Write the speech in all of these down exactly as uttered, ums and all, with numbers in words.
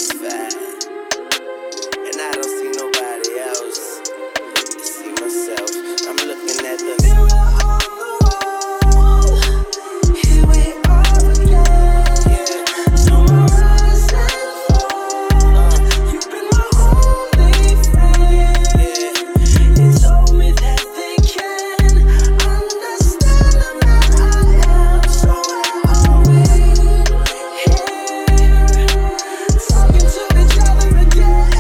satisfied, and I don't see nobody else. I see myself. I'm looking at the mirror on the wall. Here we are again. Yeah. No more rise and fall. Uh, You've been my only friend. Yeah. You told me that they can understand the man I am. So where are we? Here, talking to each other again.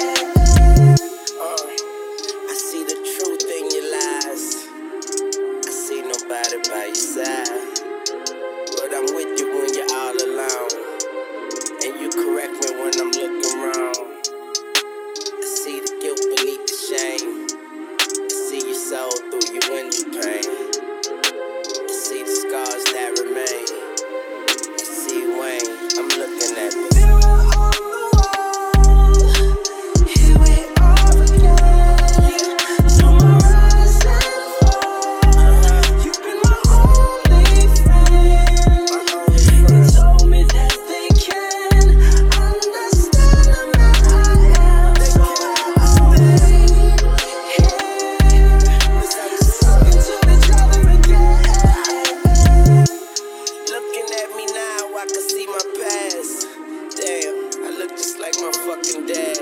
Uh, I see the truth in your lies. I see nobody by your side, but I'm with you when you're all alone, and you correct me when I'm looking wrong. I see the guilt beneath the shame. I see your soul through your window pane. I see the scars that remain. I see Wayne. I'm looking at the mirror on the wall. Here we are again. No more rise and fall. You've been my only friend. You told me that they can understand the man I am. So where are we? Here, talking to each other again. Looking at me now, I can see my past. Damn, I look just like my fucking dad.